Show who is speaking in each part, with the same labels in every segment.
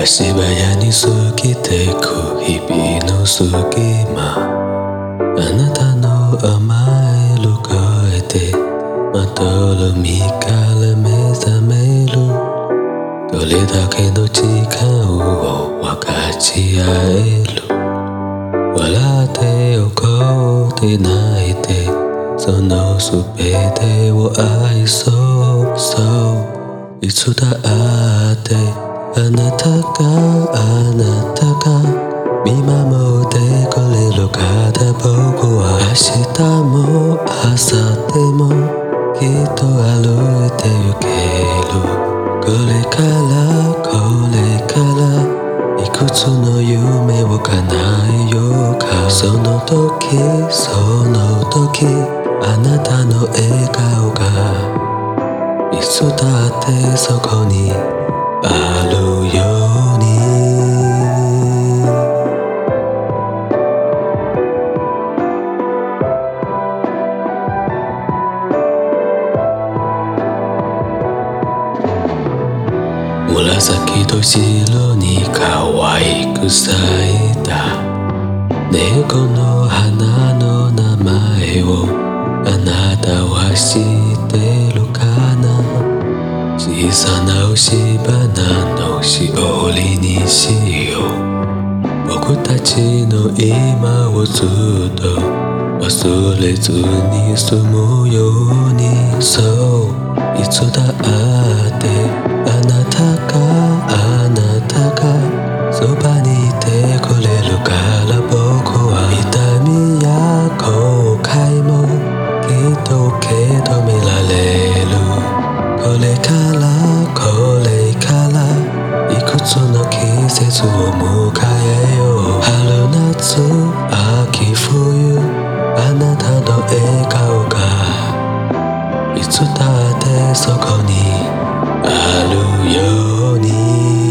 Speaker 1: 足早に過ぎてく日々の隙間、あなたの甘える声でまどろみから目覚める。どれだけの時間を分かち合える。笑って怒って泣いてそのすべてを愛そう。そういつだってあなたが見守ってくれるから僕は明日も明後日もきっと歩いてゆける。これからいくつの夢を叶えようか。その時あなたの笑顔がいつだってそこにあるように。紫と白に可愛く咲いた猫の花の名前をあなたは知ってるかな。小さな押し花のしおりにしよう。僕たちの今をずっと忘れずに済むように。そういつだってあなたがそばにいてくれるから僕は痛みや後悔もきっと受け止められる。これからいくつの季節を迎えよう。春夏秋冬あなたの笑顔がいつだってそこにあるように。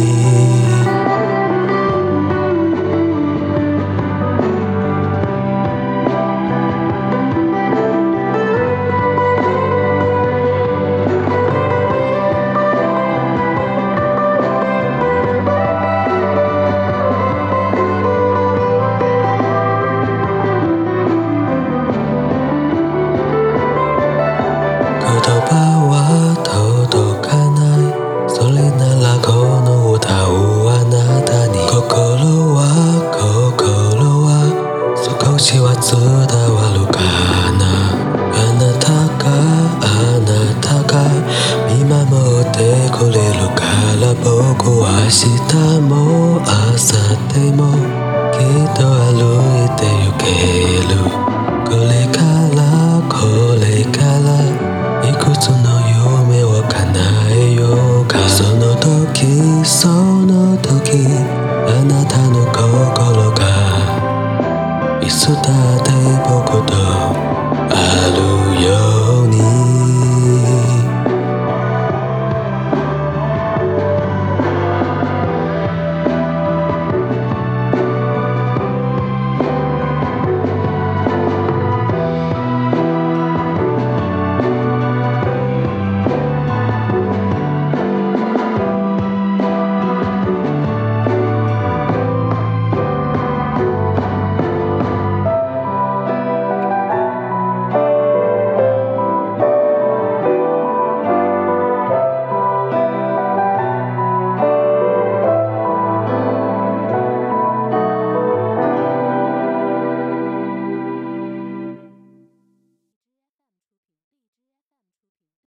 Speaker 1: 言葉は届かない。それならこの歌をあなたに。心は少しは伝わるかな。あなたが見守ってくれるから僕は明日も明後日もきっと歩いてゆける。